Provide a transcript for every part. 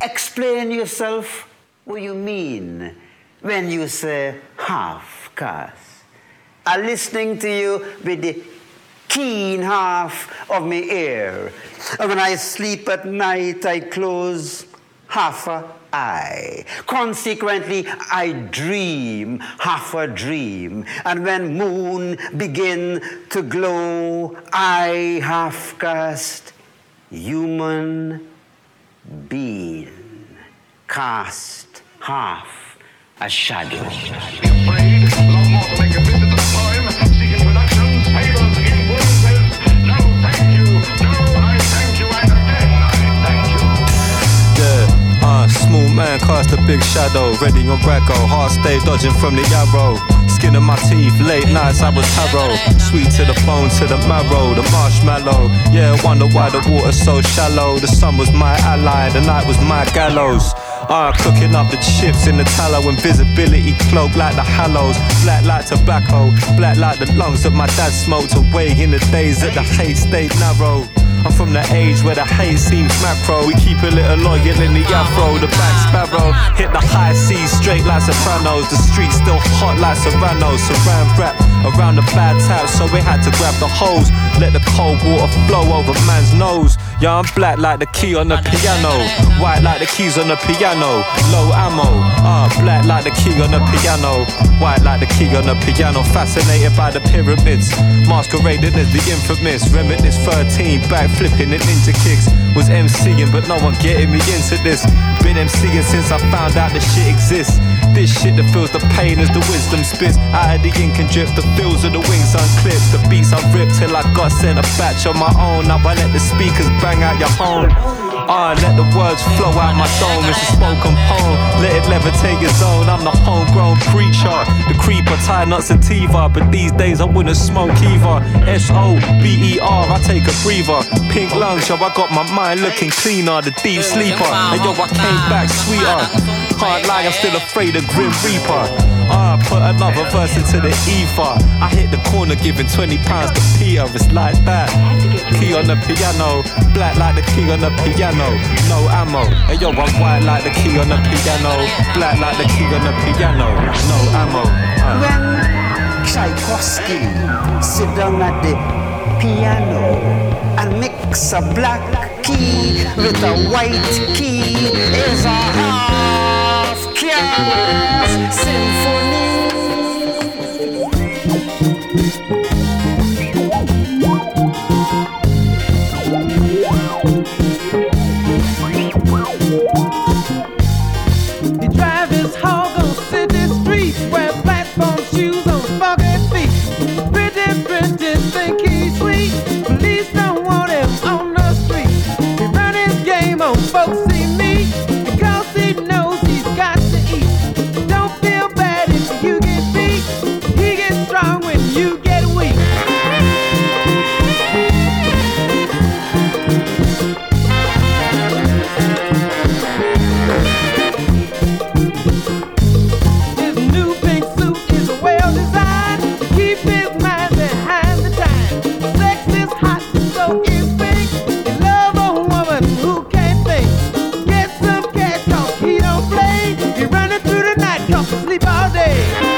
Explain yourself what you mean when you say half caste. I'm listening to you with the keen half of my ear. And when I sleep at night, I close half a eye. Consequently, I dream half a dream. And when moon begin to glow, I half cast human being, cast half a shadow. Small man cast a big shadow, ready on Raggo, heart stay dodging from the arrow. Skin of my teeth, late nights I was tarot. Sweet to the bone, to the marrow, the marshmallow. Yeah, wonder why the water's so shallow. The sun was my ally, the night was my gallows. Cooking up the chips in the tallow, invisibility cloaked like the hallows. Black like tobacco, black like the lungs that my dad smoked away in the days that the hate stayed narrow. I'm from the age where the hate seems macro. We keep a little loyal in the afro. The back sparrow hit the high seas straight like sopranos. The streets still hot like serranos. Saran wrap around the bad taps, so we had to grab the hose. Let the cold water flow over man's nose. Yeah, I'm black like the key on the piano, white like the keys on the piano. Low ammo, black like the key on the piano, white like the key on the piano. Fascinated by the pyramids, masquerading as the infamous Reminisce 13, back flipping and ninja kicks. Was MCing but no one getting me into this. Been MCing since I found out the shit exists. This shit that feels the pain as the wisdom spits. Out of the ink and drips, the feels of the wings unclipped. The beats I ripped till I got sent a batch on my own. Now I let the speakers bang out your home. Let the words flow out my dome. It's a spoken poem, let it levitate your zone. I'm the homegrown preacher, the creeper, tie nuts and Tiva. But these days I wouldn't smoke either. S-O-B-E-R, I take a breather. Pink lungs, yo, I got my mind looking cleaner. The deep sleeper, and yo, I came back sweeter. Can't lie, I'm still afraid of Grim Reaper. Put another verse into the ether. I hit the corner giving £20 to Peter. It's like that. Key on the piano, black like the key on the piano. No ammo. And yo, I'm white like the key on the piano, black like the key on the piano. No ammo. When Tchaikovsky sit down at the piano and mix a black key with a white key, is a half-caste symphony. He drive his hog on city streets, wear platform shoes on funky feet. Pretty, think he's sweet. Police don't want him on the street. He run his game on folks see me, because he knows he's got to eat. Don't feel bad if you get beat. He gets strong when you get weak. His new pink suit is well designed to keep his mind behind the time. Sex is hot, so is pink. You love a woman who can't think. Get some cash, cause he don't play. He running through the night, cause he sleep all day.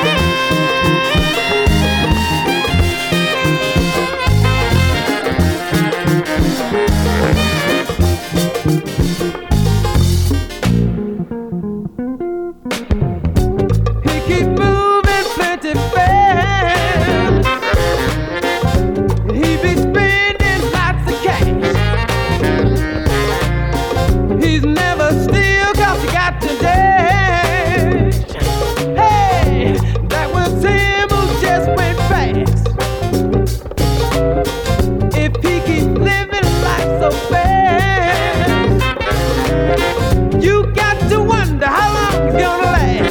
He keep moving plenty fast. He be spending lots of cash. He's never still, cause he got to dash. Hey, that was him who just went fast. If he keeps living life so fast, you got to wonder how long he's gonna last.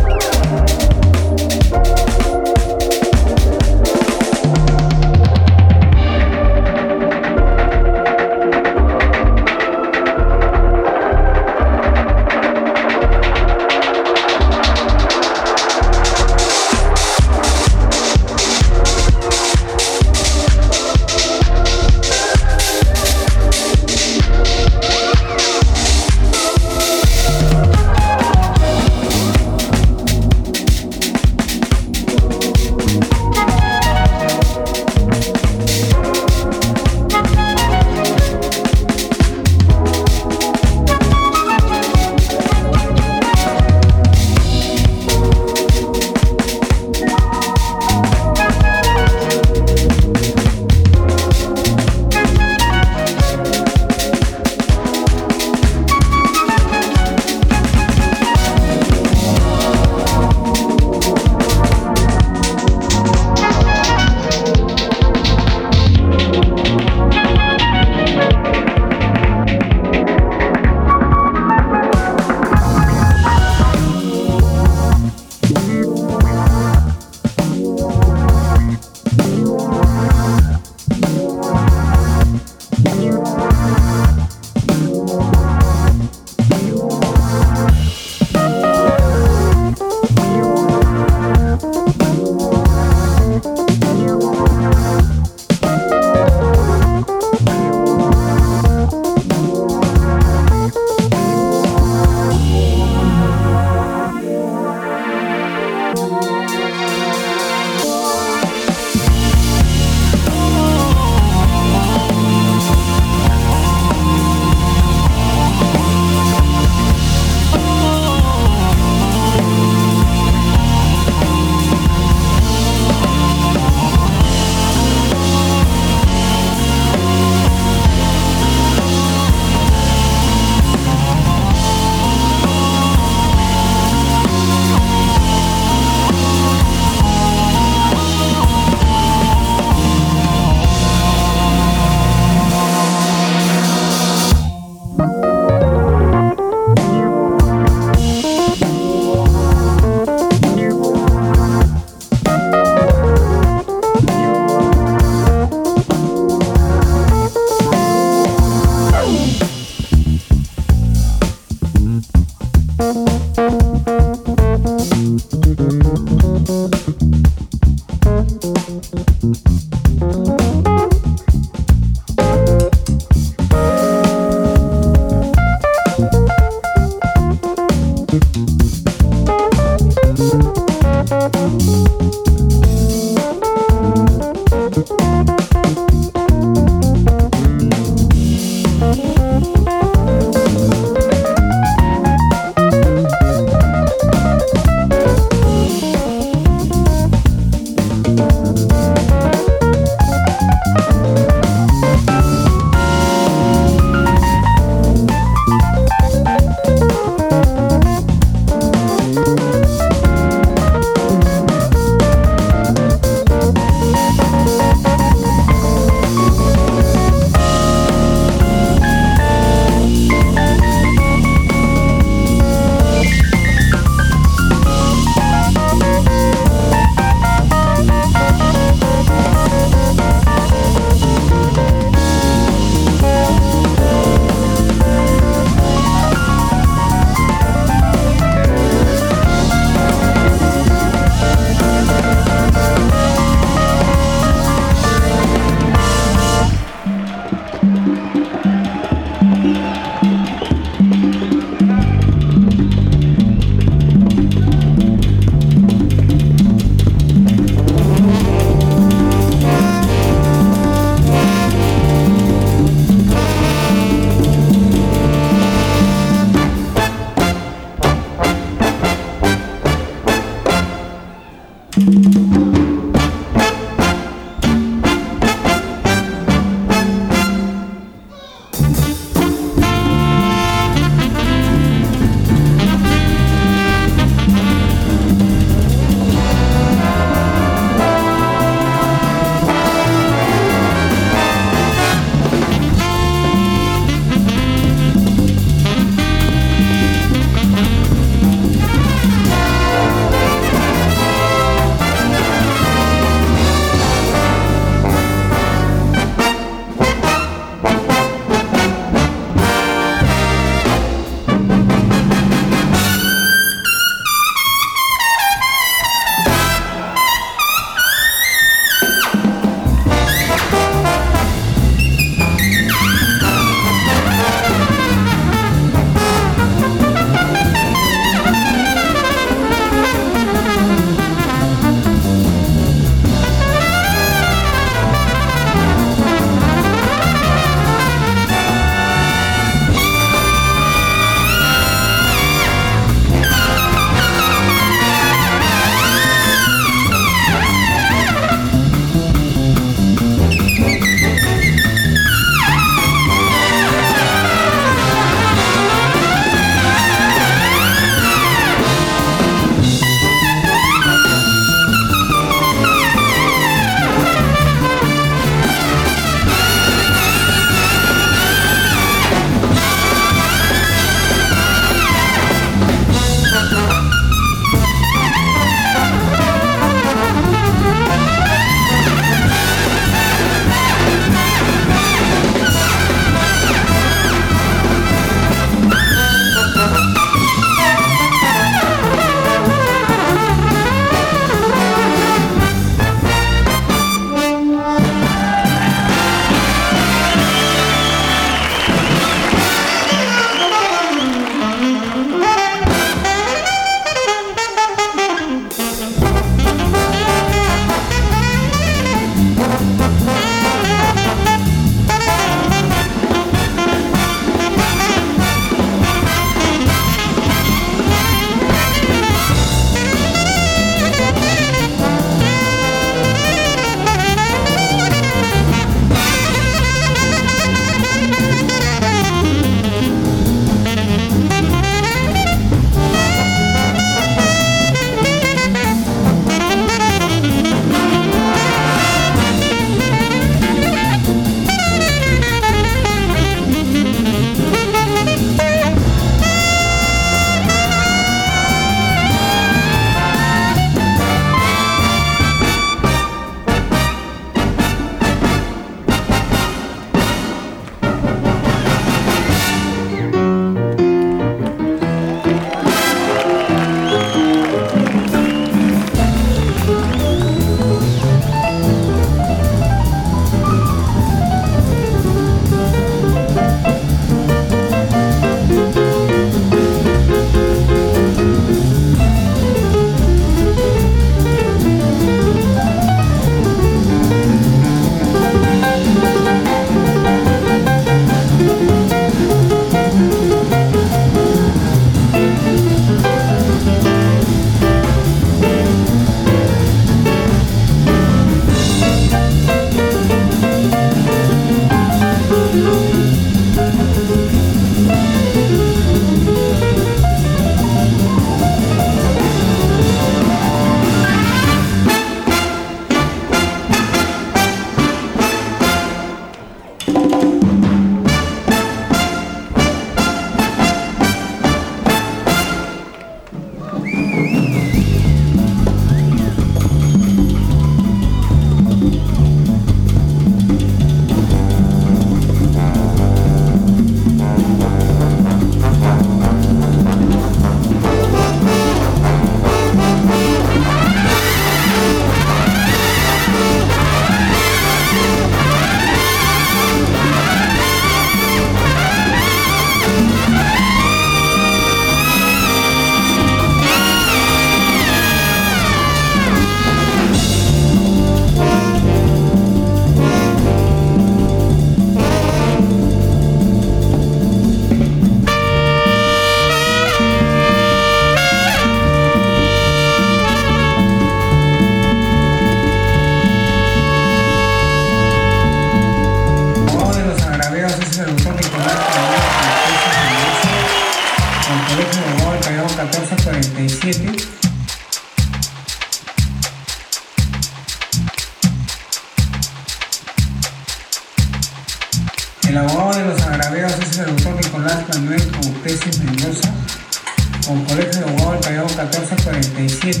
los agraviados es el doctor Nicolás Manuel Coutesis Mendoza, con Colegio de Abogados del Callao 1447.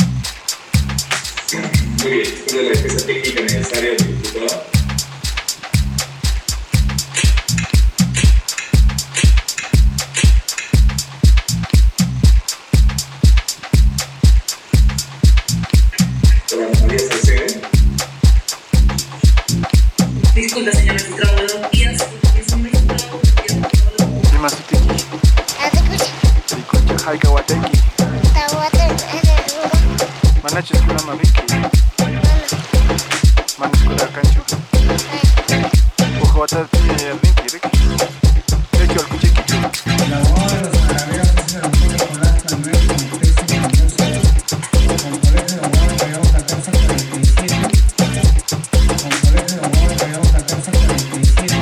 Muy bien, después de la defensa técnica necesaria del diputado. Disculpe, señor magistrado, buenos días. Es un magistrado. Haika wateki. Mana cheskuna mabiki. Mana skuna kanchu. Ujota tiene rinki rik. Hecho al kuchikichu. El abogado de los agraviados es el doctor Nicolás Manuel Coutesis Mendoza, con Colegio de Abogados del Callao 1447. Con Colegio de Abogados del Callao 1447.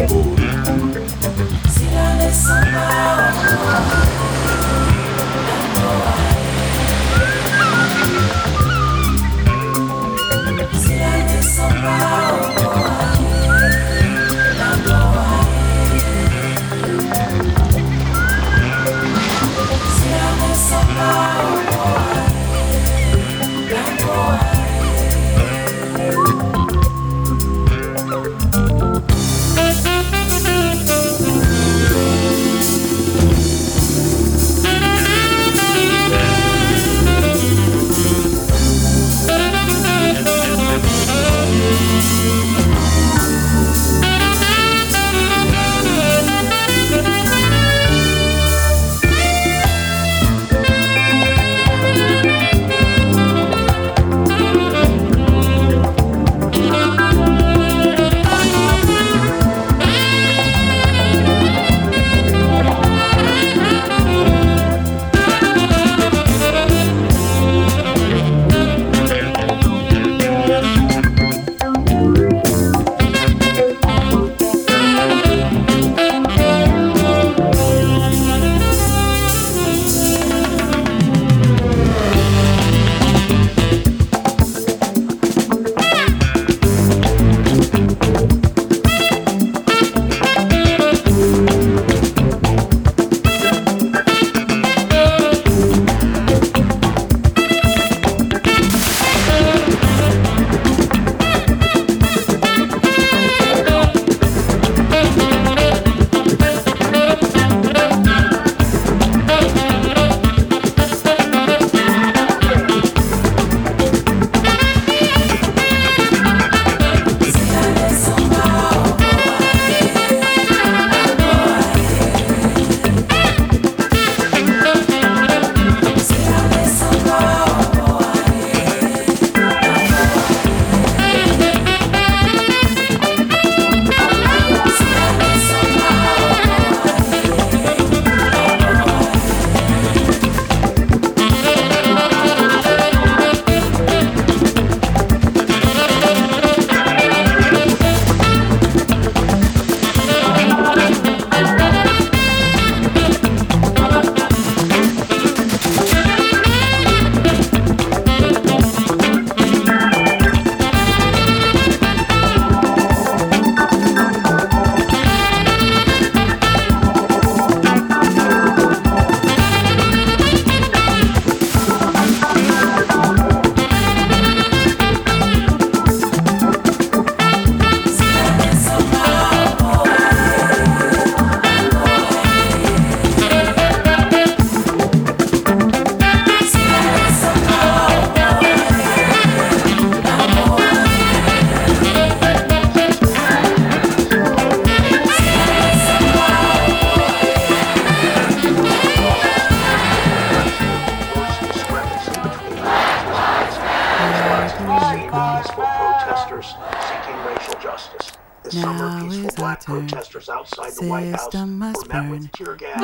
protesters outside the White House were met with tear gas.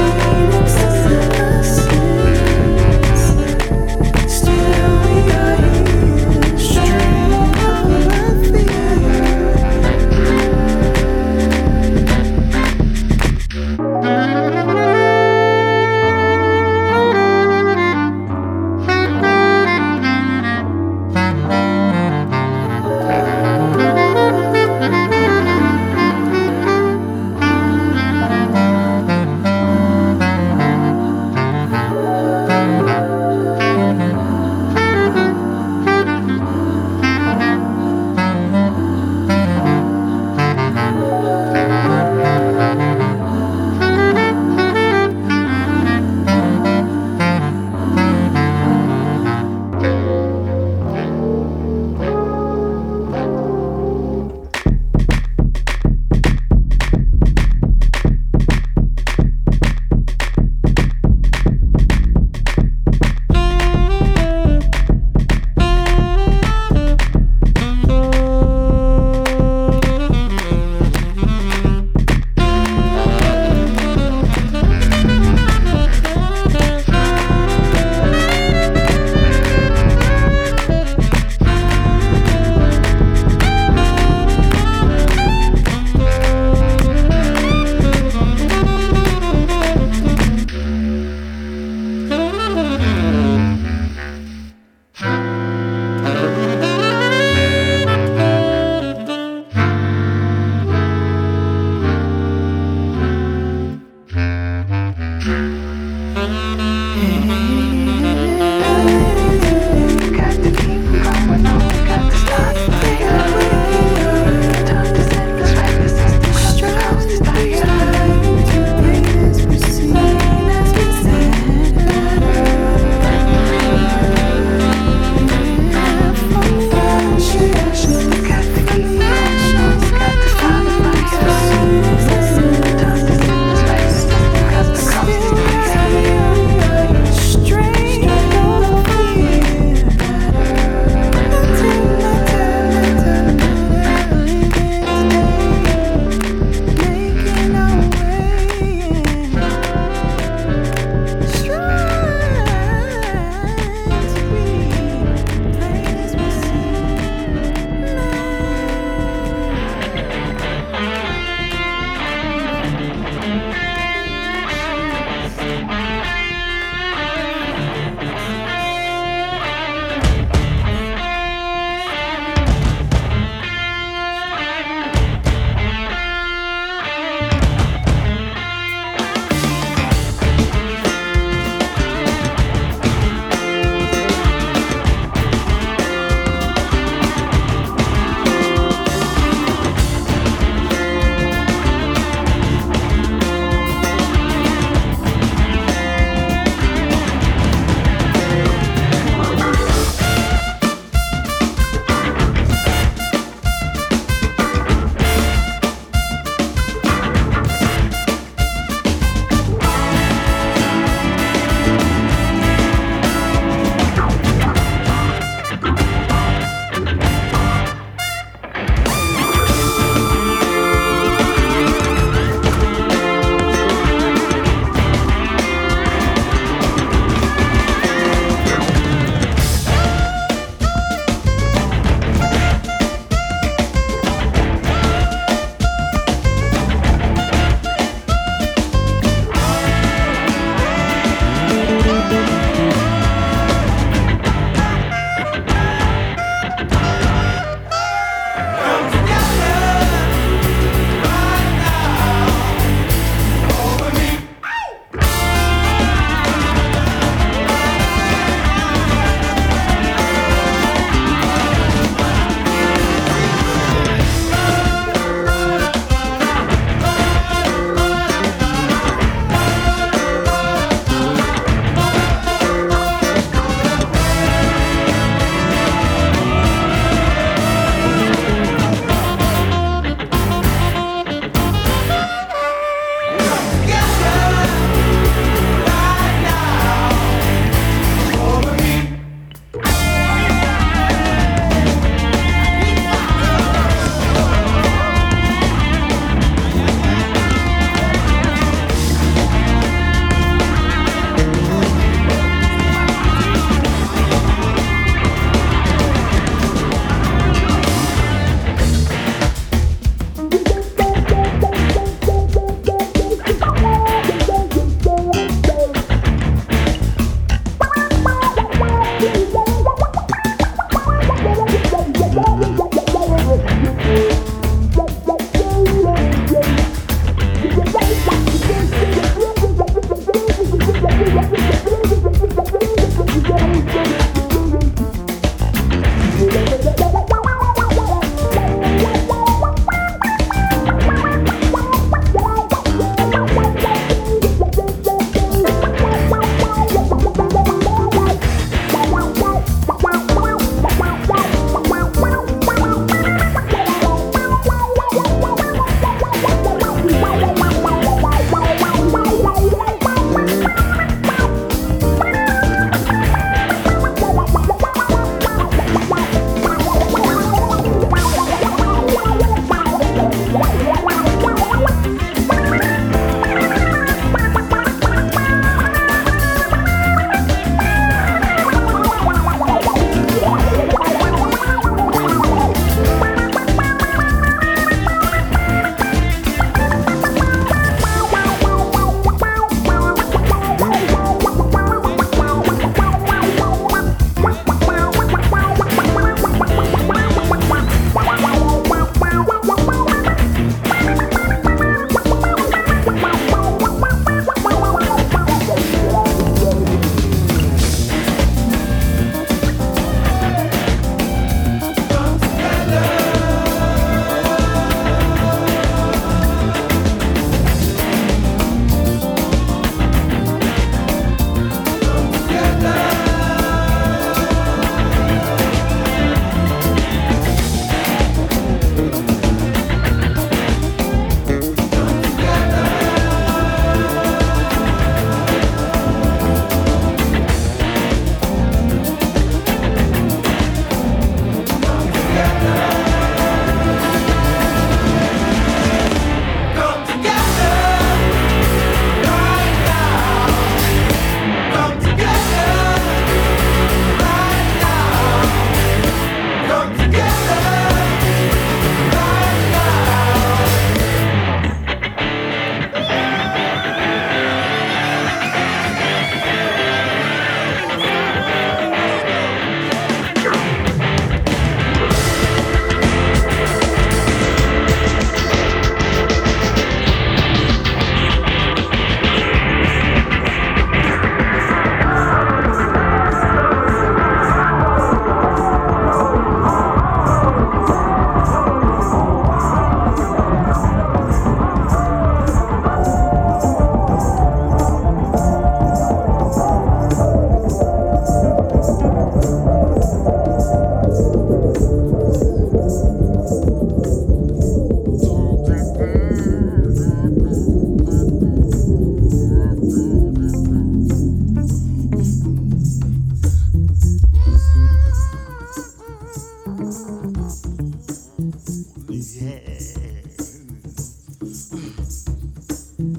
Still we are here.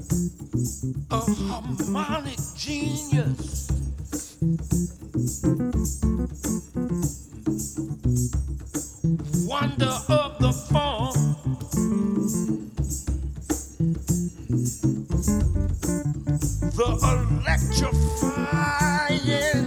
a harmonic genius. Wonder of the form. The electrifying.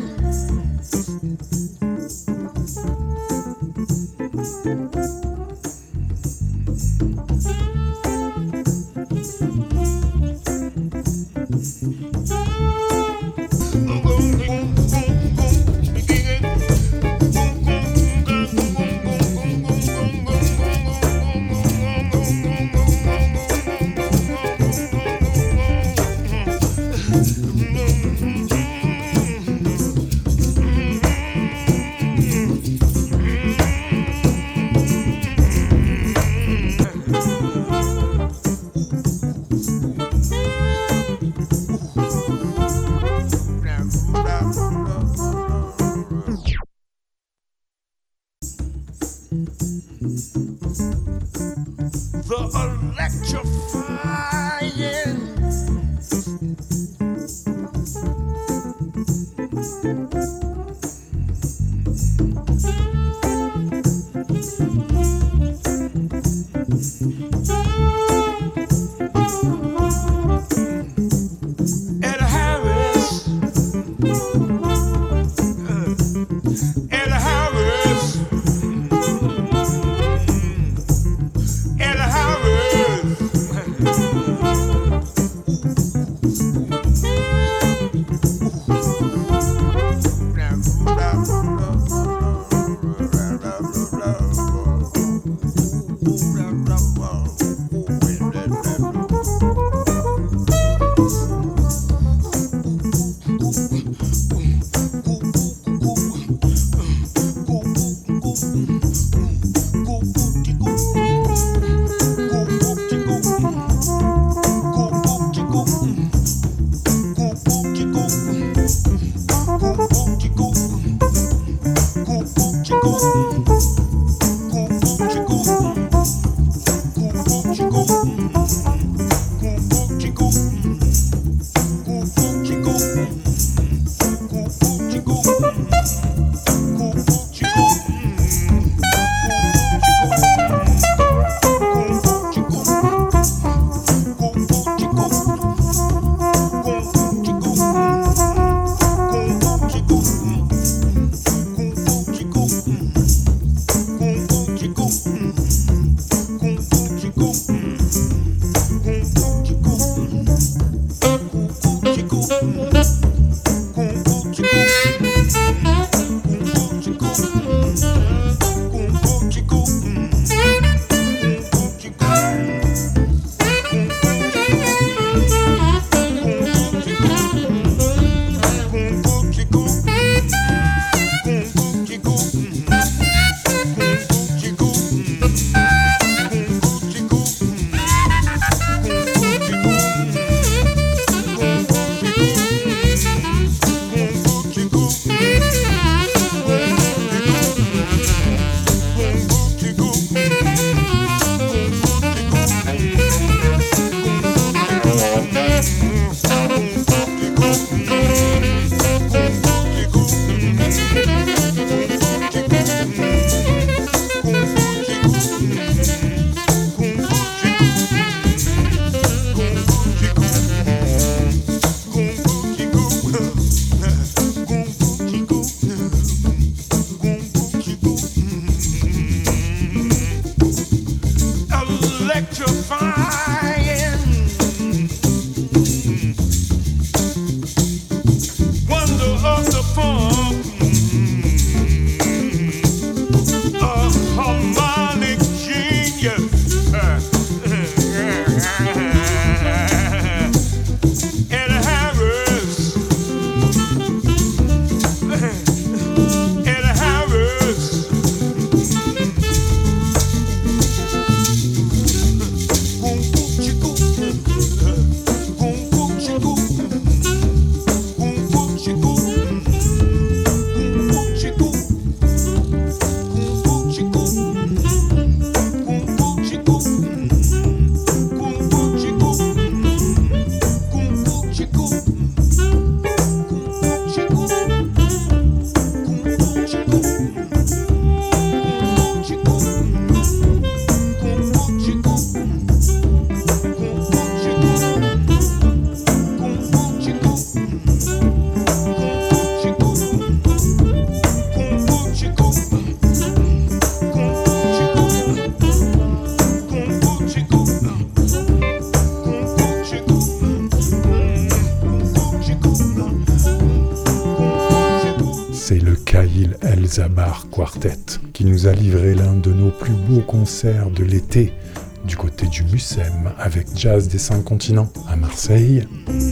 Zabar Quartet, qui nous a livré l'un de nos plus beaux concerts de l'été, du côté du Mucem, avec Jazz des 5 continents à Marseille.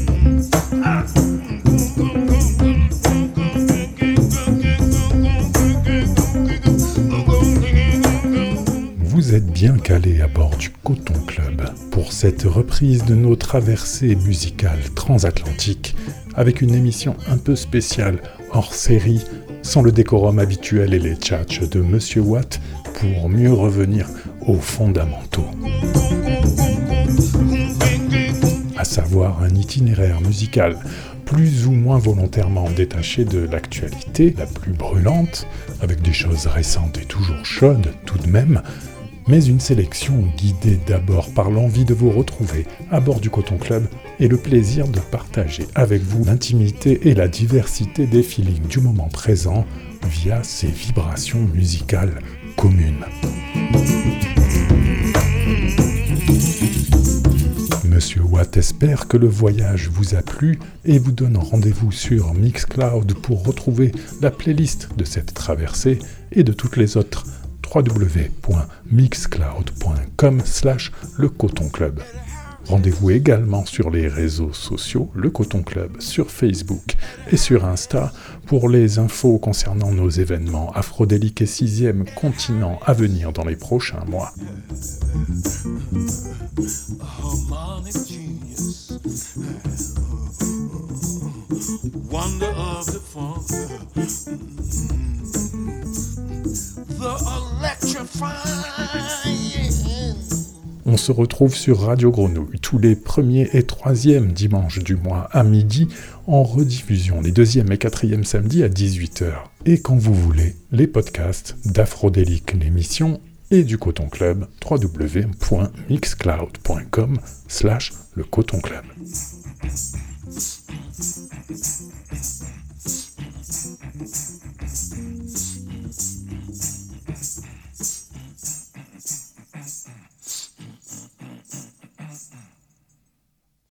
Vous êtes bien calés à bord du Coton Club pour cette reprise de nos traversées musicales transatlantiques avec une émission un peu spéciale hors série, sans le décorum habituel et les tchatchs de Monsieur Watt pour mieux revenir aux fondamentaux. À savoir un itinéraire musical plus ou moins volontairement détaché de l'actualité la plus brûlante, avec des choses récentes et toujours chaudes tout de même, mais une sélection guidée d'abord par l'envie de vous retrouver à bord du Coton Club et le plaisir de partager avec vous l'intimité et la diversité des feelings du moment présent via ces vibrations musicales communes. Monsieur Watt espère que le voyage vous a plu et vous donne rendez-vous sur Mixcloud pour retrouver la playlist de cette traversée et de toutes les autres www.mixcloud.com/Le Coton Club. Rendez-vous également sur les réseaux sociaux, Le Coton Club, sur Facebook et sur Insta pour les infos concernant nos événements afrodéliques et 6e continent à venir dans les prochains mois. On se retrouve sur Radio Grenouille tous les 1er et 3e dimanches du mois à midi, en rediffusion les 2e et 4e samedis à 18h. Et quand vous voulez, les podcasts d'Afrodélique l'émission et du Coton Club, www.mixcloud.com/Le Coton Club.